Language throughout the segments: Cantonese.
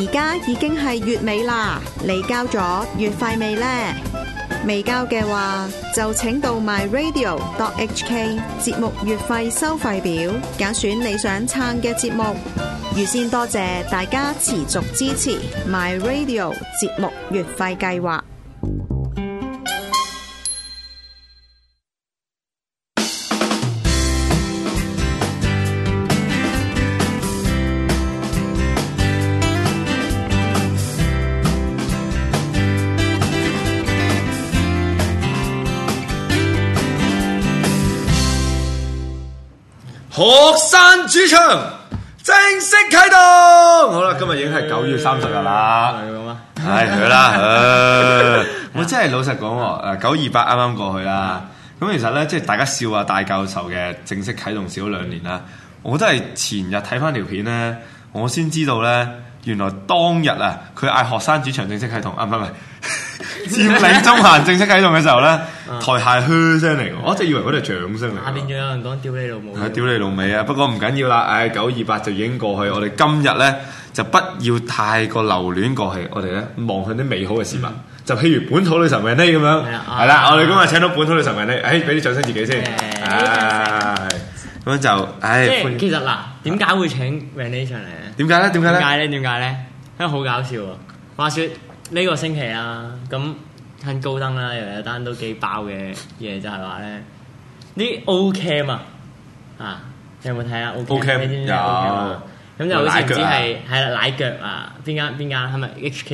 家已經係月尾啦，你交咗月費未呢？未交嘅話，就請到 myradio.hk 節目月費收費表，揀選你想撐嘅節目。預先多謝大家持續支持 myradio 節目月費計劃。 學生主場正式啟動，好啦，今日已經係9月30日啦，係咁啊，係佢啦，我真係老實講喎，928啱啱過去啦，咁其實咧，即係大家笑話大教授嘅正式啟動少咗2年啦，我都係前日睇翻條片咧，我先知道咧，原來當日啊，佢嗌學生主場正式啟動，唔係。佔領中環正式啟動嘅時候咧，台下噓聲嚟嘅，我一直以為嗰啲係掌聲嚟。 下邊仲有人講屌你老母， 係屌你老味啊！不過唔緊要啦，928就已經過去，我哋今日咧就不要太過留戀過去，我哋咧望向啲美好嘅事物，就譬如本土女神 Renee 咁樣，係啦，我哋今日請到本土女神 Renee，俾啲掌聲自己先，咁樣就， 即係其實嗱，點解會請 Renee 上嚟咧？ 點解咧？ 因為好搞笑喎！話説呢個星期啊，咁喺高登啦，又有單都幾爆嘅嘢，就係話咧啲 O Cam 啊，你有冇睇啊 ？O Cam 有， 咁就好似唔知係啦奶腳啊，邊間係咪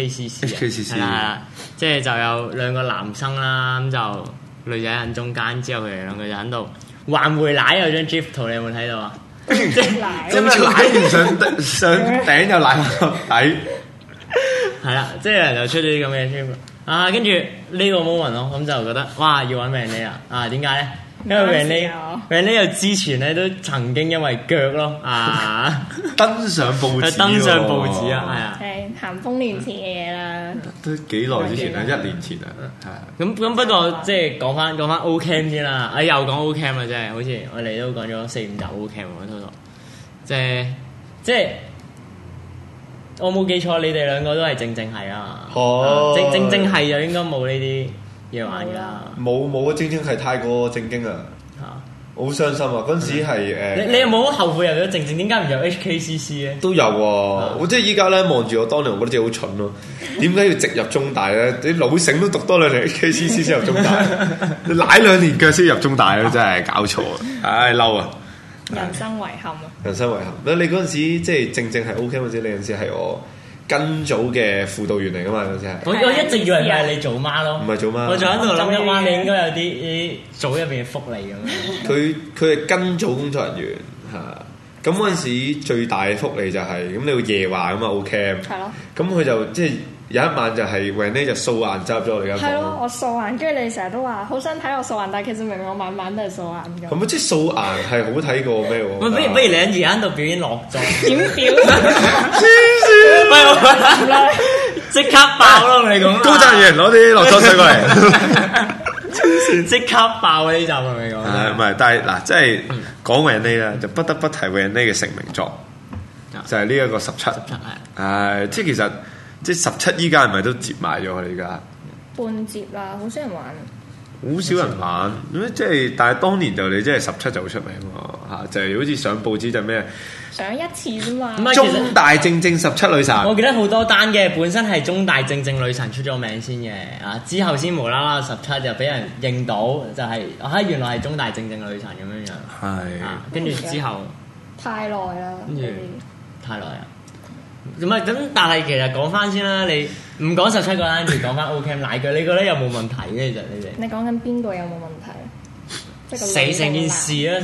HKCC 啊？即係就有兩個男生啦，咁就女仔喺中間，之後佢哋兩個就喺度環回奶有張 GIF 圖，你有冇睇到啊？即係奶唔上頂又奶落底。 係啦，即係人就出咗啲咁嘅嘢啊，跟住呢個 moment 咯，咁就覺得哇要揾 Renee 啊，點解咧？因為 Renee 又之前咧都曾經因為腳咯登上報紙， 係啊， 係咸豐年前嘅嘢啦， 都幾耐之前啦，1年前啊，係。 咁不過即係講翻 O Cam 先啦，又講 O Cam 啦，真係好似我哋都講咗4-5集 O Cam 喎，即係。我冇記錯，你哋兩個都係正係啊！正係就應該冇呢啲嘢玩㗎啦。 冇正係太過正經啊！好傷心啊！嗰陣時係你有冇後悔入咗正？點解唔入 HKCC 咧？ 都有喎！我即係依家咧望住我當年，我覺得自己好蠢咯。點解要直入中大咧？啲老醒都讀多2年 HKCC 先入中大，你舐2年腳先入中大咧，真係搞錯啊！唉，嬲啊！ 人生遺憾啊！ 人生遺憾。你嗰陣時即係正係 OK 嗰陣時，你嗰陣時係我跟組嘅輔導員嚟噶嘛？嗰陣時係。 我一直以為係你組媽咯。 唔係組媽。 我仲喺度諗一晚，你應該有啲組入邊嘅福利咁樣。 佢係跟組工作人員嚇。咁嗰陣時最大嘅福利就係咁，你要夜話咁嘛 OK。係咯。咁佢就即係。有一晚就係 Renee 就掃顏走入咗我哋間房。 係咯，我掃顏，跟住你成日都話好想睇我掃顏，但係其實明明我晚晚都係掃顏㗎。 咁即係掃顏係好睇過咩喎？ 不如你而家喺度表演落妝。 點表？ 黐線！即刻爆咯！你講。 高質員攞啲落妝水過嚟。 黐線！即刻爆呢集係咪講？ 唔係，但係嗱，即係講 Renee 啦，就不得不提 Renee 嘅成名作，就係呢一個17。即係其實。即係17依家係咪都接埋咗佢哋而家？ 半接啦，好少人玩。 好少人玩，咁即係，但係當年就你即係17就好出名喎嚇，就係好似上報紙就咩？ 上一次啫嘛。 中大正17女神。 我記得好多單嘅，本身係中大正女神出咗名先嘅，之後先無啦啦17就俾人認到，就係原來係中大正女神咁樣樣。 係。 跟住之後。 太耐啦。 跟住太耐啦。唔係咁，但係其實講翻先啦，你唔講17個單，就講翻 O Cam 奶腳，你覺得有冇問題嘅？其實你哋你講緊邊個有冇問題？ 成件事啊！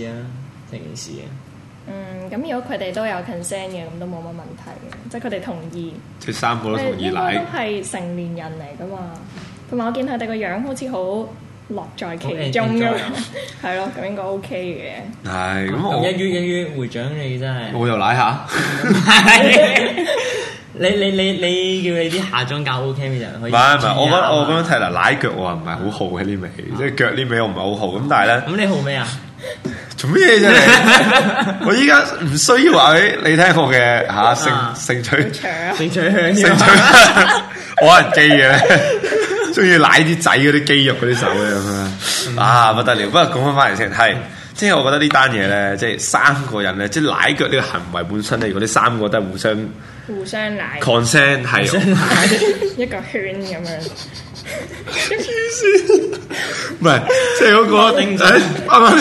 咁如果佢哋都有 consent 嘅，咁都冇乜問題嘅，即係佢哋同意。 即係3個都同意奶。 應該都係成年人嚟噶嘛，同埋我見佢哋個樣好似好樂在其中咁，係咯，咁應該 OK 嘅。 係咁， 一於會長你真係， 我又舐下。 你叫你啲下裝教 OK 嘅人可以。唔係，我咁樣睇啦，奶腳我唔係好好嘅呢味，即係腳呢味我唔係好好。咁但係咧， 咁你好咩啊？ 做咩嘢啫你？我依家唔需要話俾你聽我嘅性取向，我係基嘅，中意舐啲仔嗰啲肌肉嗰啲手咧咁啊，不得了！不過講翻嚟先，係即係我覺得呢單嘢咧，即係三個人咧，即係舐腳呢個行為本身咧，如果呢三個都係互相舐 consent 係一個圈咁樣。 唔係，即係嗰個啱啱，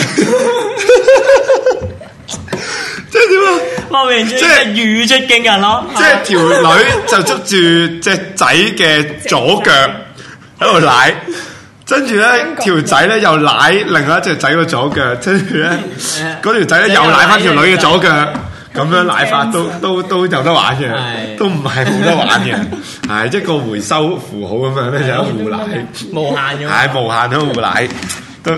即係點啊？ 即係語出驚人咯！ 即係條女就捉住隻仔嘅左腳喺度舐，跟住咧條仔咧又舐另外一隻仔嘅左腳，跟住咧嗰條仔咧又舐翻條女嘅左腳。咁樣奶法都有得玩嘅，都唔係冇得玩嘅，係一個回收符號咁樣咧，就互奶， 無限嘅， 係無限都互奶，都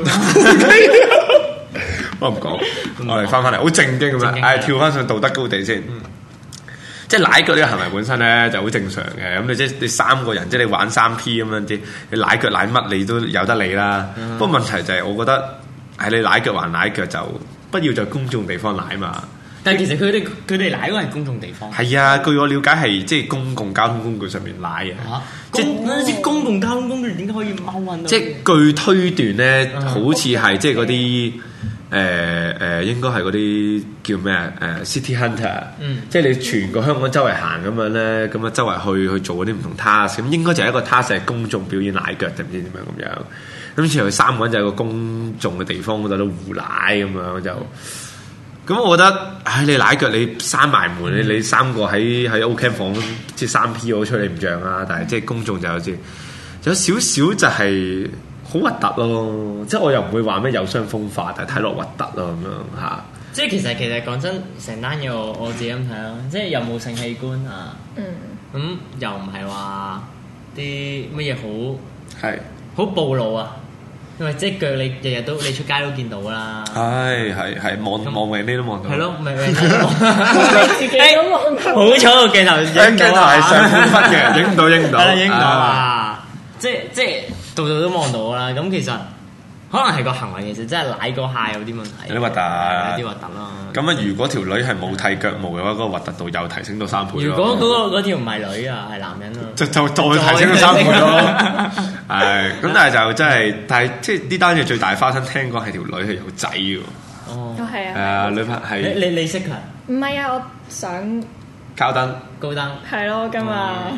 我唔講，我哋翻嚟好正經咁樣，跳翻上道德高地先，即係奶腳呢個行為本身咧就好正常嘅，咁你即係你三個人，即係你玩3P 咁樣啲，你奶腳奶乜你都有得理啦。不過問題就係我覺得係你奶腳還奶腳就不要在公眾地方奶嘛。 但係其實佢哋奶嗰個係公眾地方。係啊，據我了解係即係公共交通工具上面奶嘅。 即係公共交通工具點解可以踎運到？ 即係據推斷咧，好似係即係嗰啲應該係嗰啲叫咩啊？City Hunter，即係你全個香港周圍行咁樣咧，咁啊周圍去做嗰啲唔同 task，咁應該就係一個 task 係公眾表演奶腳定唔知點樣咁樣。咁之後佢三個人就喺個公眾嘅地方嗰度都互奶咁樣就。咁我覺得，你奶腳你閂埋門，你三個喺 O-Camp 房即係3P 我吹你唔脹啊！但係即係公眾就有少少就係好核突咯，即係我又唔會話咩有傷風化，但係睇落核突咯咁樣嚇。 即係其實講真，成單嘢我自己咁睇咯，即係又冇性器官啊，咁又唔係話啲乜嘢好暴露啊。因為即係腳，你日日都你出街都見到啦。 係望遠啲都望到。 係咯，咪自己都望到。好彩個鏡頭影到啊！ 係上半分嘅，影唔到。 係啦，影唔到啊！即係度都望到啦。咁其實可能係個行為其實真係舐嗰下有啲問題。 有啲核突， 有啲核突咯。 咁啊，如果條女係冇剃腳毛嘅話，嗰個核突度又提升到3倍。 如果嗰條唔係女啊，係男人啊， 就再提升到3倍咯。係，咁但係就真係，但係即係呢單嘢最大花生，聽講係條女係有仔嘅。 哦，係啊。 係啊，女朋係。 你識佢？ 唔係啊，我想高登。 係咯，今日。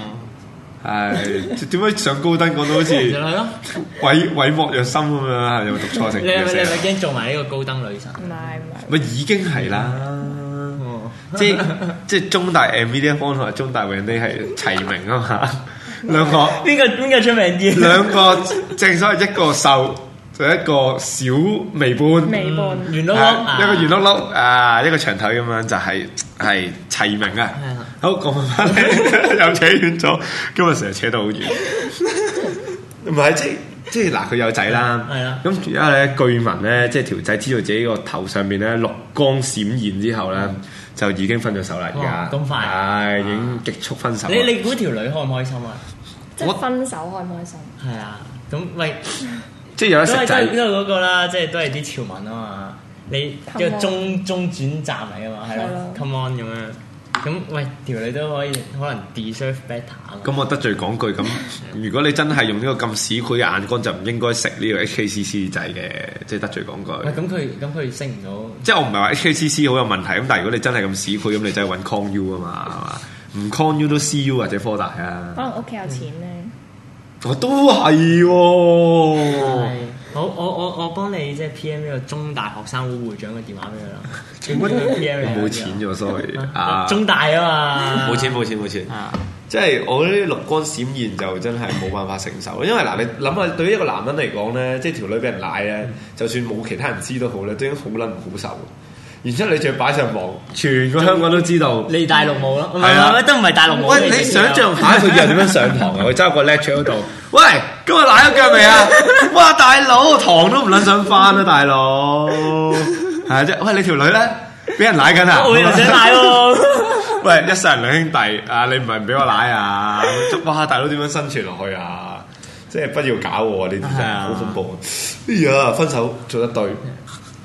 係點解上高登講到好似毀莫若心咁樣？有冇讀錯成？ 你係咪驚做埋呢個高登女神？ 唔係。 咪已經係啦。即係中大 Media Fund 同埋中大永利係齊名啊嘛。兩個邊個出名啲？ 兩個正所謂一個瘦就一個小微半圓碌碌， 一個圓碌碌啊，一個長腿咁樣就係齊名啊！好講翻嚟，又扯遠咗，今日成日扯到好遠。唔係即係嗱，佢有仔啦，咁而家咧據聞咧，即係條仔知道自己個頭上面咧綠光閃現之後咧，就已經分咗手啦。而家咁快， 係已經極速分手。 你估條女開唔開心啊？ 即係分手開唔開心？ 係啊，咁喂， 即係有得食仔。 都係嗰個啦，即係都係啲潮文啊嘛。你一個中轉站嚟啊嘛，係咯 ，come on 咁樣。咁喂，條女都可能 deserve better 啊。咁我得罪講句，咁如果你真係用呢個咁市儈嘅眼光，就唔應該食呢個 HKCC 仔嘅，即係得罪講句。 喂，咁佢升唔到。 即係我唔係話 HKCC 好有問題，咁但係如果你真係咁市儈，咁你真係揾 Con U 啊嘛，係嘛？唔 Con U 都 CU 或者科大啊。 可能屋企有錢咧。 我都係喎。 好，我幫你即係 PM 呢個中大學生會會長嘅電話俾佢啦。PM 冇錢咗，sorry。 中大啊嘛。 冇錢。即係我覺得綠光閃現就真係冇辦法承受，因為嗱你諗下，對於一個男人嚟講咧，即係條女俾人奶咧，就算冇其他人知都好咧，都已經好撚唔好受。然之後你仲要擺上網，全個香港都知道。 你大陸冇咯？係啊，都唔係大陸冇。 喂，你想象下佢以後點樣上堂啊？佢揸個 lecture 嗰度，喂，今日奶咗腳未啊？哇，大佬，堂都唔撚想翻啊，大佬。係啫，喂，你條女咧俾人奶緊啊？ 我又想奶喎。 喂，一世人兩兄弟啊！你唔係唔俾我奶啊？哇，大佬點樣生存落去啊？即係不要搞我呢啲真係好恐怖。哎呀，分手做得對。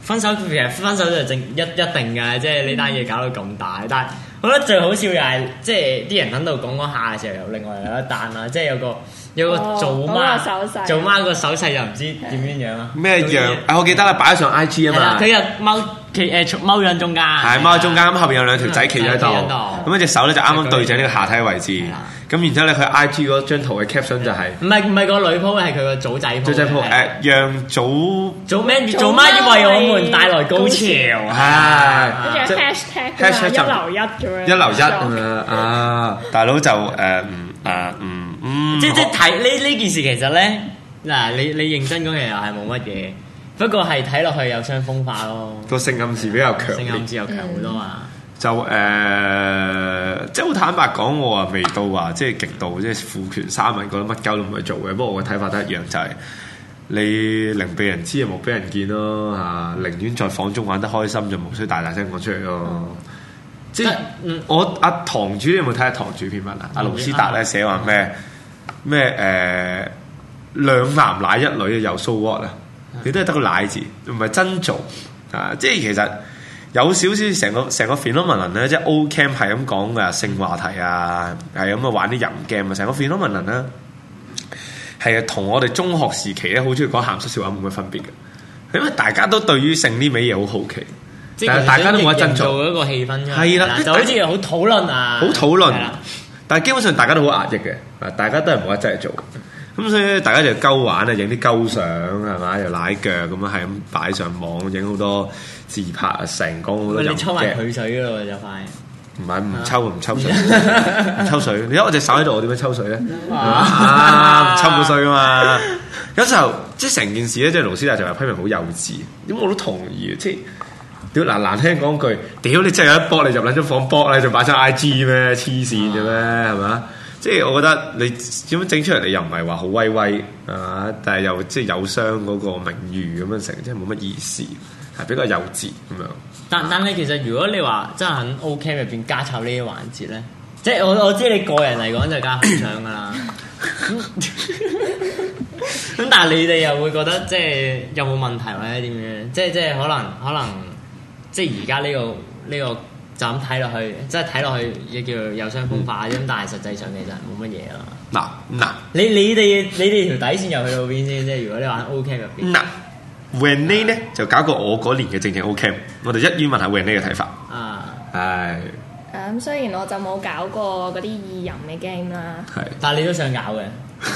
分手其實分手就一定㗎，即係呢單嘢搞到咁大。但係我覺得最好笑又係即係啲人喺度講嗰下嘅時候，又另外有一單啦，即係有個做媽個手勢又唔知點樣樣啊？ 咩樣？我記得啦，擺咗上 IG 啊嘛。 佢又踎喺中間， 係踎喺中間，咁後邊有兩條仔企喺度，咁一隻手咧就啱啱對正呢個下體位置。咁然之後咧，佢 IG 嗰張圖嘅 caption 就係唔係個女 po 係佢個組仔 po。組仔 po 讓做媽為我們帶來高潮，係跟住 hashtag 一流一咁樣。 一流一咁樣啊！大佬就即係睇呢件事其實咧，嗱你認真講其實係冇乜嘢，不過係睇落去有傷風化咯。 個性暗示比較強， 性暗示又強好多啊！ 就即係好坦白講，我話未到話即係極度即係父權三民覺得乜鳩都唔去做嘅。不過我嘅睇法都一樣，就係你寧被人知，莫俾人見咯嚇。寧願在房中玩得開心，就無需大聲講出嚟咯。即係我阿堂主，你有冇睇下堂主篇文啊？阿盧斯達咧寫話咩兩男奶一女又 so what 啊？你都係得個奶字，唔係真做啊！即係其實。有少少成個 phenomenon 咧，即係 O Camp 係咁講嘅性話題啊，係咁啊玩啲淫 game 啊，成個 phenomenon 咧係同我哋中學時期咧好中意講鹹濕笑話冇乜分別嘅，因為大家都對於性呢味嘢好好奇，但係大家都冇得真做一個氣氛， 係啦， 就好似好討論啊， 好討論，但係基本上大家都好壓抑嘅，大家都係冇得真係做。咁所以大家就鳩玩啊，影啲鳩相係嘛，又奶腳咁樣係咁擺上網，影好多自拍啊，成講好多。 你抽埋佢水咯，就快。 唔係唔抽水，唔抽水。你睇我隻手喺度，我點樣抽水咧？唔抽冇水噶嘛。有時候即係成件事咧，即係盧斯達就話批評好幼稚，咁我都同意。即係屌難聽講句，屌你真係有一搏你入撚咗房搏咧，就擺張 IG 咩？黐線嘅咩？係嘛？即係我覺得你點樣整出嚟，你又唔係話好威威啊，但係又即係有傷嗰個名譽咁樣成，即係冇乜意思，係比較幼稚咁樣。但係其實如果你話真係喺 O Camp 入邊加插呢啲環節咧，即係我知你個人嚟講就加紅腸噶啦。咁但係你哋又會覺得即係有冇問題或者點樣？即係可能即係而家呢個。就咁睇落去，即係睇落去亦叫有傷風化咁，但係實際上其實冇乜嘢咯。嗱，你哋條底線又去到邊先？即係如果你玩 O Camp 入邊。嗱 Renee 咧就搞過我嗰年嘅正 O Camp，我哋一於問下 Renee 嘅睇法。係。 咁雖然我就冇搞過嗰啲意淫嘅 game 啦， 係， 但係你都想搞嘅。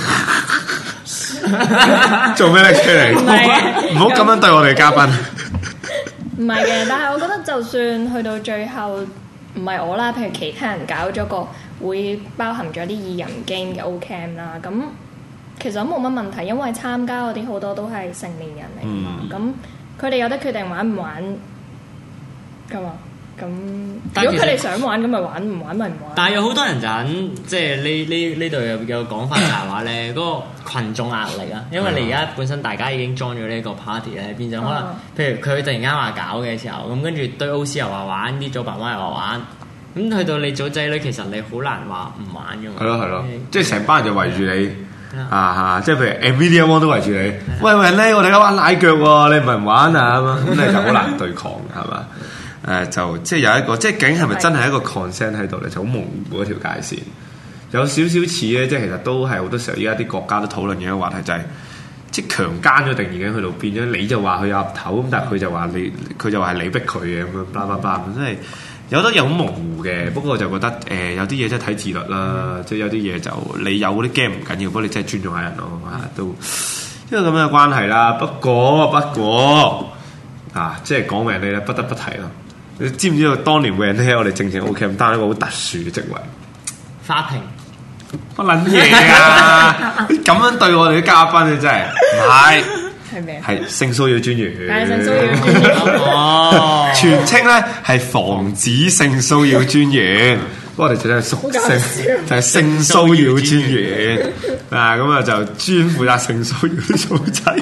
做咩咧出嚟？唔好咁樣對我哋嘉賓。 唔係嘅，但係我覺得就算去到最後唔係我啦，譬如其他人搞咗個會包含咗啲意淫 game 嘅 O Camp 啦，咁其實都冇乜問題，因為參加嗰啲好多都係成年人嚟㗎嘛，咁佢哋有得決定玩唔玩㗎嘛。咁如果佢哋想玩咁咪玩，唔玩咪唔玩。 但係有好多人就喺即係呢度有講法就係話咧，嗰個羣眾壓力啊，因為你而家本身大家已經裝咗呢個 party 咧，變咗可能譬如佢突然間話搞嘅時候，咁跟住對 OC 又話玩，啲組爸媽又話玩，咁去到你組仔女，其實你好難話唔玩㗎嘛。係咯， 即係成班人就圍住你即係譬如 Nvidia One 都圍住你。喂咧，我哋而家玩奶腳喎，你唔係唔玩啊咁你就好難對抗係嘛？就即係有一個，即係究竟係咪真係一個 consent 喺度咧？就好模糊嗰條界線，有少少似咧，即係其實都係好多時候，依家啲國家都討論嘅一個話題，就係即係強姦咗定已經去到變咗，你就話佢有岌頭，咁但係佢就話係你逼佢嘅咁樣，巴拉巴拉咁，真係有得有好模糊嘅。不過我就覺得有啲嘢真係睇自律啦，即係有啲嘢就你有嗰啲 game 唔緊要，不過你真係尊重下人咯都因為咁樣嘅關係啦。不過即係講明你咧，不得不提咯。你知唔知道當年 Renee 我哋正 O Camp 擔一個好特殊嘅職位？ 花瓶乜撚嘢啊！咁樣對我哋啲嘉賓你真係唔係係咩？ 係性騷擾專員。 係性騷擾專員哦， 全稱咧係防止性騷擾專員。不過我哋就係屬性，就係性騷擾專員咁啊就專負責性騷擾啲組仔。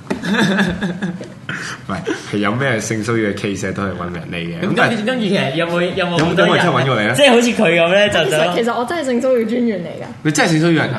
喂，係有咩性騷擾嘅 case 都係揾人嚟嘅。 咁跟住其實有冇人真係揾過你咧？ 即係好似佢咁咧，就其實我真係性騷擾專員嚟㗎。 你真係性騷擾人啊？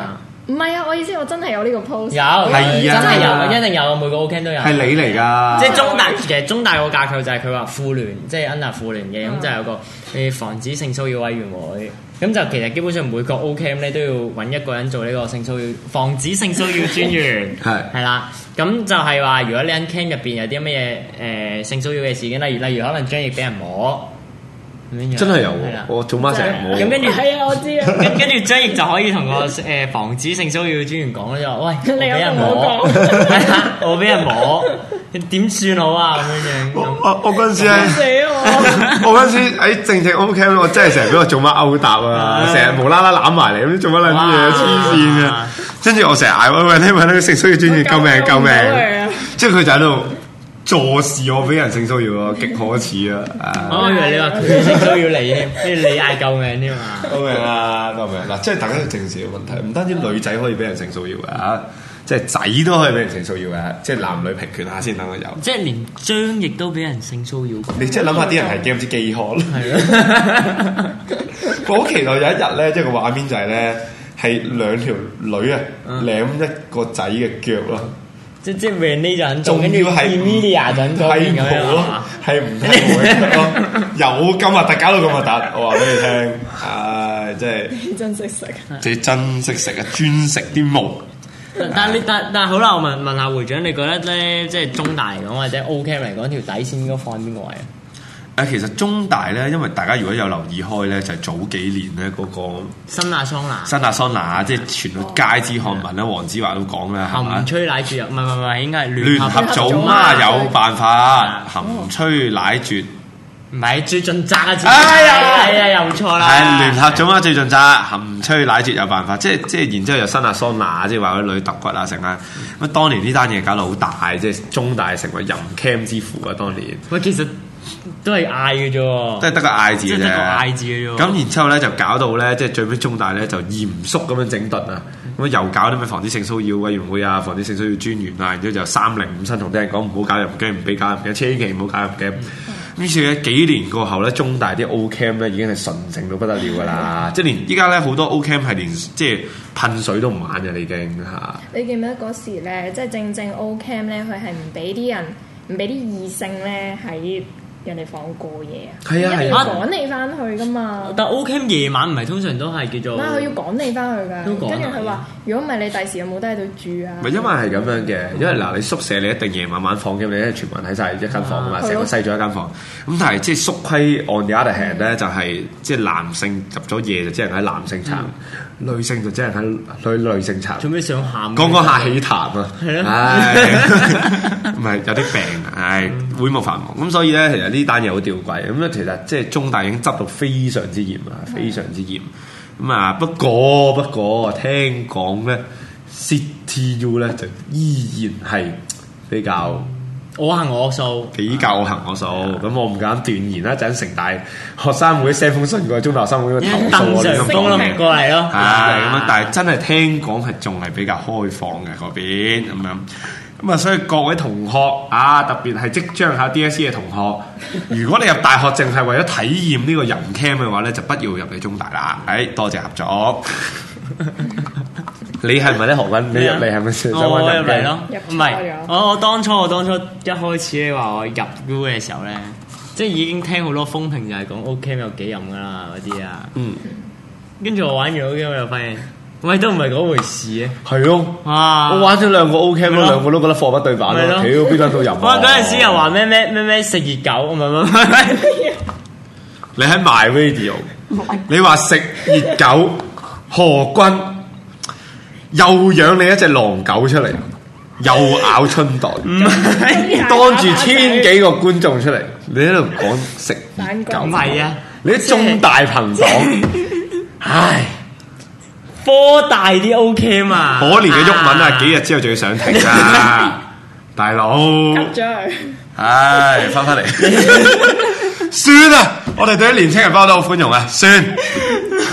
唔係啊，我意思我真係有呢個 post。 有係啊真係有，一定有，每個 O Camp 都有。 係你嚟㗎， 即係中大，其實中大個架構就係佢話婦聯，即係 under 婦聯嘅，咁就有個防止性騷擾委員會。咁就其實基本上每個 O Camp 咧都要揾一個人做呢個性騷擾防止性騷擾專員，係啦。咁就係話，如果你喺 camp 入邊有啲乜嘢性騷擾嘅事件，例如可能張翼俾人摸。 真係有喎，我做媽成日摸。 咁跟住係啊，我知啊。 跟住張翼就可以同個防止性騷擾專員講咧，就話：喂， 你有俾人同我摸，係啊，我俾人摸，點算好啊？咁樣樣。 我嗰陣時死我！ 我嗰陣時喺正 O Camp，我真係成日俾我做媽勾搭啊！成日無啦啦攬埋嚟，咁做乜撚嘢？黐線嘅。跟住我成日嗌喂，你問呢個性騷擾專員救命救命！即係佢就喺度坐視我俾人性騷擾啊，極可恥啊！ 我以為你話佢性騷擾你添，跟住你嗌救命添嘛？ 救命啊！救命！嗱，即係大家都正視嘅問題，唔單止女仔可以俾人性騷擾嘅，即係仔都可以俾人性騷擾嘅，即係男女平權下先等佢有。 即係連張翼都俾人性騷擾。 你即係諗下啲人係驚唔知飢渴咯。 係咯。 我好期待有一日咧，即係個畫面就係咧，係兩條女啊舐一個仔嘅腳咯。 即係 Renee 就肯做， 仲要係 Emilia 就肯做咁樣咯， 係唔睇咯，有咁核突搞到咁核突，我話俾你聽，唉，真係真識食， 你真識食啊，專食啲毛。 但係好啦，我問下會長，你覺得咧，即係中大嚟講或者 O Camp 嚟講，條底線應該放邊個位啊？ 其實中大咧，因為大家如果有留意開咧，就係、早幾年咧嗰個新亞桑拿，即係傳到街知巷聞啦。黃子華都講啦，係嘛？含吹奶絕唔係，應該係聯合組媽有辦法，含吹奶絕唔係最盡責啊！ 係啊， 又錯啦。 係聯合組媽最盡責，含吹奶絕有辦法，即係然之後又新亞桑拿，即係話嗰啲女揼骨啊成啊。咁當年呢單嘢搞到好大，即係中大成為淫 cam 之父啊！當年喂，其實都係嗌嘅啫， 都係得個嗌字嘅啫， 得個嗌字嘅啫。 咁然之後咧就搞到咧，即係最尾中大咧就嚴肅咁樣整頓啊！咁又搞啲咩防止性騷擾委員會啊、防止性騷擾專員啊，然之後就305新同啲人講唔好搞入鏡，唔俾搞入鏡，千祈唔好搞入鏡。於是咧幾年過後咧，中大啲 O Camp 咧已經係純正到不得了㗎啦！即係連依家咧好多 O Camp 係連即係噴水都唔玩嘅，已經嚇。 你記唔記得嗰時咧，即係正 O Camp 咧，佢係唔俾啲人，唔俾啲異性咧喺人哋房過夜啊！ 係啊， 一定要趕你翻去噶嘛。 但 O Camp 夜晚唔係通常都係叫做， 佢要趕你翻去㗎。 跟住佢話：如果唔係你第時有冇得喺度住啊？ 唔係因為係咁樣嘅，因為嗱你宿舍你一定夜晚放嘅，你咧全部人喺晒一間房㗎嘛，成個西咗一間房。咁但係即係宿規 on the other hand 咧，就係即係男性入咗夜就只能喺男性層，女性就只能喺女性層。 做咩想喊？ 講下起痰啊！ 係咯， 唔係有啲病啊，會務繁忙咁，所以咧其實呢單嘢好吊詭咁咧。其實即係中大已經執到非常之嚴啊，非常之嚴咁啊。不過聽講咧 CityU 咧就依然係比較我行我素， 比較我行我素。咁我唔敢斷言啦。陣城大學生會 send 封信過去中大學生會投訴我呢種講嘅， 過嚟咯。 係咁啊！但係真係聽講係仲係比較開放嘅嗰邊咁樣。咁啊，所以各位同學啊，特別係即將考 DSE 嘅同學，如果你入大學淨係為咗體驗呢個淫 cam 嘅話咧，就不要入嚟中大啦。多謝合作。你係咪咧何君？你入嚟係咪想揾淫 cam？我入嚟咯， 唔係我當初一開始你話我入 U 嘅時候咧，即係已經聽好多風評就係講 O Camp 有幾淫噶啦嗰啲啊。跟住我玩完 O Camp 我又發現。喂，都唔係嗰回事嘅。係咯，我玩咗2個 O Camp 咯，2個都覺得貨不對版咯。屌，邊間都有。我嗰陣時又話咩食熱狗，唔係。你喺 My Radio， 你話食熱狗，何君又養你一隻狼狗出嚟，又咬春袋，當住1000幾個觀眾出嚟，你喺度講食熱狗。唔係啊，你啲中大朋黨，唉。科大啲 O Camp 啊，可憐嘅鬱文啊，幾日之後仲要上庭啊，大佬。cut 咗佢。唉，翻嚟。算啦，我哋對啲年青人包都好寬容啊，算。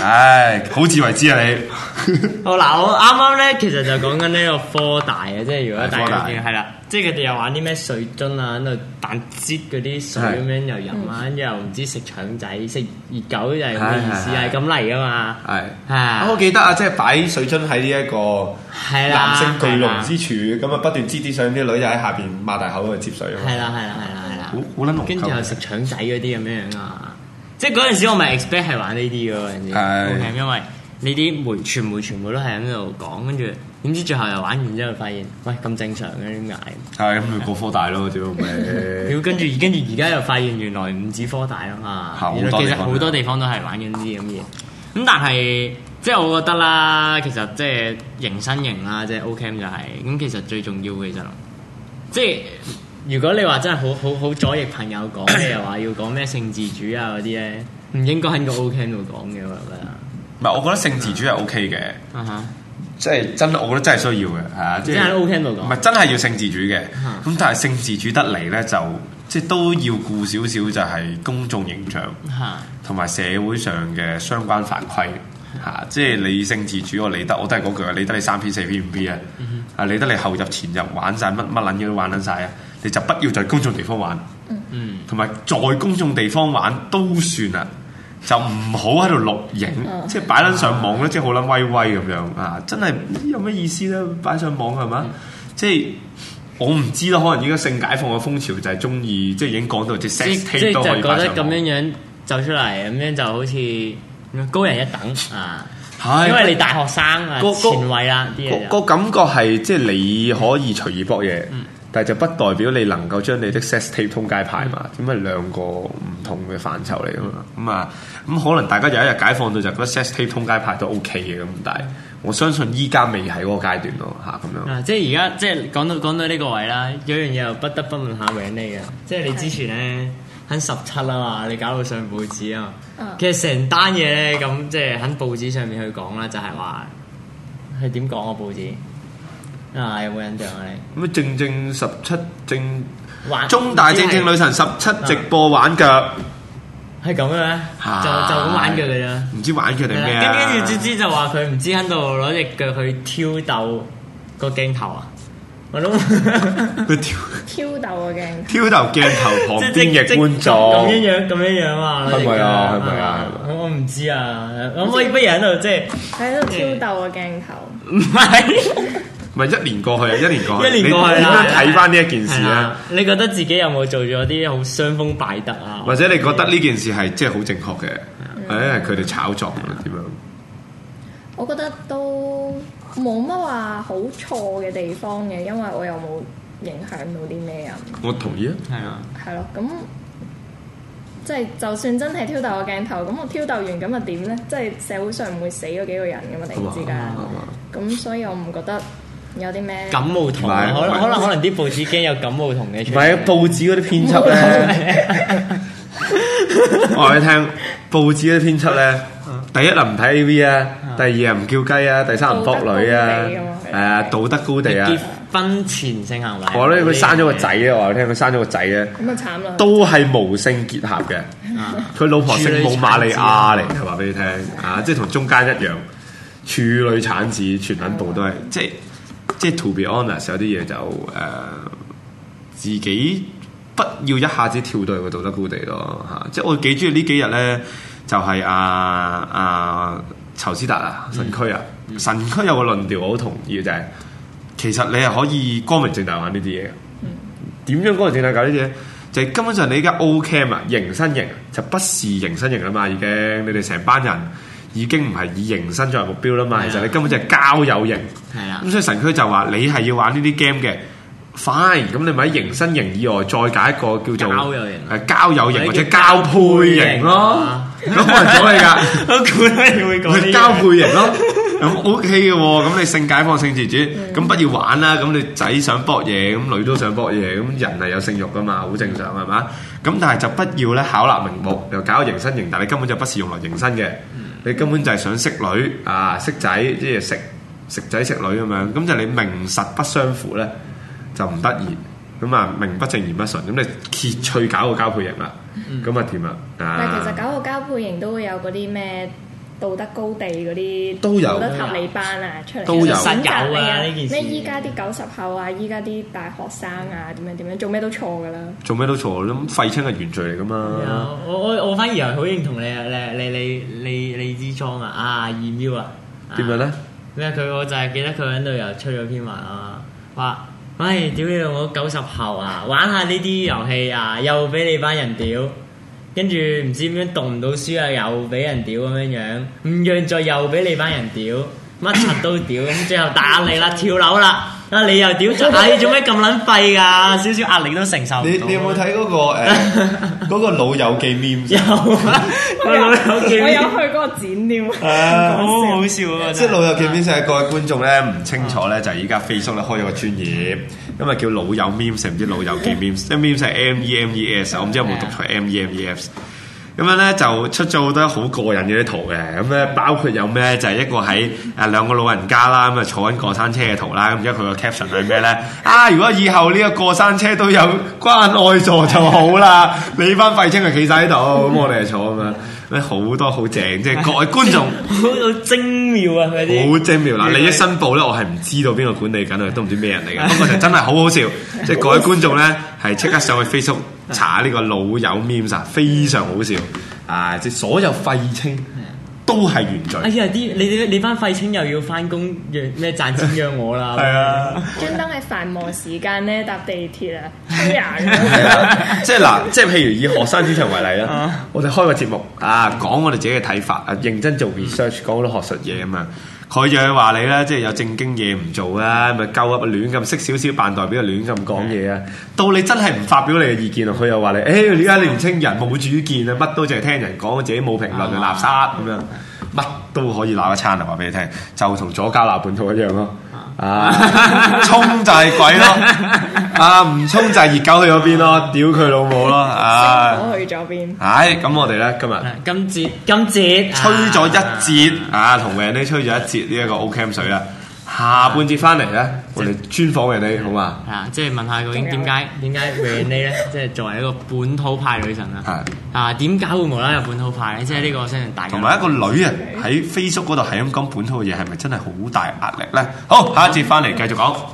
唉，好自為之啊你。 好嗱，我啱啱咧其實就講緊呢個科大嘅，即係如果大家見係啦，即係佢哋又玩啲咩水樽啊，喺度彈擠嗰啲水咁樣又飲啊，跟住又唔知食腸仔、食熱狗就係咁嘅意思，係咁嚟噶嘛。係我記得啊，即係擺水樽喺呢一個係啦男性巨龍之處，咁啊不斷擠啲水，啲女就喺下邊擘大口去接水。 係啦， 好撚濃。 跟住又食腸仔嗰啲咁樣啊，即係嗰陣時我咪 expect 係玩呢啲嘅嗰陣時，OK，因為呢啲傳媒全部都係喺度講，跟住點知最後又玩完之後發現，喂咁正常嘅點解？ 係咁咪過科大咯，屌咪！ 跟住而家又發現原來唔止科大啊嘛，原來其實好多地方都係玩緊啲咁嘅嘢。咁但係即係我覺得啦，其實即係迎新營啦，即係 Ocamp 就係咁。其實最重要嘅其實即係如果你話真係好左翼朋友講嘅又話要講咩性自主啊嗰啲咧，唔應該喺個 Ocamp 度講嘅，我覺得。 唔係，我覺得性自主係 OK 嘅，即係真，我覺得真係需要嘅，係啊，即係喺 Ocamp 度講， 唔係真係要性自主嘅。咁但係性自主得嚟咧，就即係都要顧少少，就係公眾形象，同埋社會上嘅相關法規嚇。即係你性自主，我理得，我都係嗰句啊，理得你3P 4P 5P 啊，啊理得你後入前入玩晒乜撚嘢都玩撚晒啊，你就不要在公眾地方玩，同埋在公眾地方玩都算啦。就唔好喺度錄影，即係擺撚上網咧，即係好撚威威咁樣啊！真係有咩意思咧？擺上網係嘛？即係我唔知啦，可能依家性解放嘅風潮就係中意，即係已經講到即係 sex tape 都可以擺上網。即係就覺得咁樣走出嚟，咁樣就好似高人一等啊！因為你大學生啊，前衞啦啲嘢。 個感覺係即係你可以隨意搏嘢。但係就不代表你能夠將你的 sex tape 通街派嘛，咁係兩個唔同嘅範疇嚟噶嘛，咁可能大家有一日解放到就覺得 sex tape 通街派都 OK 嘅，咁但係我相信依家未係嗰個階段咯嚇咁樣。即係而家即係講到呢個位啦，有樣嘢又不得不問下 Renee 嘅，即係你之前咧喺17啊嘛，你搞到上報紙啊嘛，其實成單嘢咧咁即係喺報紙上面去講啦，就係話係點講啊報紙？有冇印象啊你？咁正17正中大正女神17直播玩腳，係咁嘅咩？就咁玩腳嘅啫，唔知玩腳定咩啊？跟住知就話佢唔知喺度攞隻腳去挑逗個鏡頭啊！我諗佢挑逗個鏡，挑逗鏡頭旁邊嘅觀眾咁樣啊！係咪啊？係咪啊？我唔知啊！咁不如喺度即係喺度挑逗個鏡頭，唔係。咪1年過去啊！1年過去，你點樣睇翻呢一件事咧？你覺得自己有冇做咗啲好傷風敗德啊？或者你覺得呢件事係即係好正確嘅？係佢哋炒作點樣？我覺得都冇乜話好錯嘅地方嘅，因為我又冇影響到啲咩人。我同意啊，係啊，係咯，咁即係就算真係挑逗個鏡頭，咁我挑逗完咁又點咧？即係社會上唔會死咗幾個人㗎嘛？突然之間，咁所以我唔覺得。有啲咩感冒痛？可能啲報紙驚有感冒痛嘅。唔係啊，報紙嗰啲編輯咧，我話你聽，報紙嗰啲編輯咧，第一唔睇 AV 啊，第二唔叫雞啊，第三唔撲女啊，係啊，道德高地啊，結婚前性行為。我咧佢生咗個仔啊，我話你聽，佢生咗個仔咧，咁啊慘啦，都係無性結合嘅，佢老婆姓母瑪利亞嚟，話俾你聽啊，即係同中間一樣，處女產子，全撚部都係即係 to be honest， 有啲嘢就自己不要一下子跳到去個道德高地咯嚇。即係我幾中意呢幾日咧，就係仇斯達啊神區啊，神區有個論調我好同意嘅就係、其實你係可以光明正大玩呢啲嘢。點樣光明正大搞呢啲嘢？就係根本上你而家 Ocamp 啊，迎新營就不是迎新營啦嘛，已經你哋成班人。已經唔係以迎新作為目標啦嘛，其實你根本就係交友型。係啊，咁所以神區就話你係要玩呢啲 game 嘅 ，fine，咁你咪喺迎新型以外再揀一個叫做交友型或者交配型咯。咁冇人阻你㗎，我估你會講交配型咯。咁 OK 嘅喎，咁你性解放性自主，咁不要玩啦。咁你仔想搏嘢，咁女都想搏嘢，咁人係有性慾㗎嘛，好正常係嘛？咁但係就不要咧巧立名目，又搞迎新型，但係你根本就不是用來迎新嘅。你根本就係想識女啊，識仔，即係食仔食女咁樣，咁就你名實不相符咧，就唔得意。咁啊，名不正言不順，咁你揭趣搞個交配型啦，咁啊掂啦。但係其實搞個交配型都會有嗰啲咩道德高地嗰啲都有道德合理班啊出嚟， 都有實有啊呢件事。 咩依家啲90後啊，依家啲大學生啊，點樣做咩都錯㗎啦。 做咩都錯，咁廢青係原罪嚟㗎嘛。 我反而係好認同你支裝啊2秒啊。 點樣咧？ 咩我就係記得佢喺度又出咗篇文啊，話喂屌你我90後啊，玩下呢啲遊戲啊，又俾你班人屌。跟住唔知點樣讀唔到書啊，又俾人屌咁樣樣，唔讓再又俾你班人屌，乜柒都屌，咁最後大壓力啦，跳樓啦，啊你又屌咗，你做咩咁撚廢㗎？少少壓力都承受唔到。 你有冇睇嗰個嗰個老友記 meme？ 有啊， 我有去嗰個展添， 好好笑啊！ 即係老友記 meme 係各位觀眾咧唔清楚咧，就係依家 Facebook 咧開咗個專頁，咁啊叫老友 memes，唔知老友記 memes，即係 memes 係 MEMES，我唔知有冇讀錯 MEMES。咁樣咧就出咗好多好過癮嘅啲圖嘅，咁咧包括有咩就係一個喺兩個老人家啦，咁啊坐緊過山車嘅圖啦，咁而家佢個 caption 係咩咧？如果以後呢個過山車都有關愛座就好啦，你班廢青係企晒喺度，咁我哋係坐咁樣。好多好正，即係各位觀眾好精妙啊！嗰啲好精妙嗱，利益申報咧，我係唔知道邊個管理緊，都唔知咩人嚟嘅。不過就真係好好笑，即係各位觀眾咧係即刻上去 Facebook 查呢個老友 memes 啊，非常好笑啊！即係所有廢青都係原罪。 哎呀，你班廢青又要翻工，咩賺錢養我啦？ 係啊， 專登喺繁忙時間咧搭地鐵啊，推人。 即係嗱，即係譬如以學生主場為例啦，我哋開個節目講我哋自己嘅睇法啊，認真做 research，講好多學術嘢啊嘛。佢就係話你咧，即係有正經嘢唔做啊，咪鳩噏亂咁識少少扮代表，亂咁講嘢啊。到你真係唔發表你嘅意見啊，佢又話你，而家年青人冇主見啊，乜都淨係聽人講，自己冇評論嘅垃圾咁樣，乜都可以鬧一餐啊！話俾你聽，就同左膠鬧本土一樣咯。衝就係鬼咯，唔衝就係熱狗去咗邊咯，屌佢老母咯， 我去咗邊？ 咁我哋咧今節吹咗一節同人哋吹咗一節呢一個 Ocamp 水啦。下半節翻嚟咧，我哋專訪人哋好嘛？ 即係問下究竟點解 Renee 咧，即係作為一個本土派女神啦，點解會無啦啦有本土派咧？即係呢個相信大家。同埋一個女人喺 Facebook 嗰度係咁講本土嘅嘢，係咪真係好大壓力咧？好，下一節翻嚟繼續講。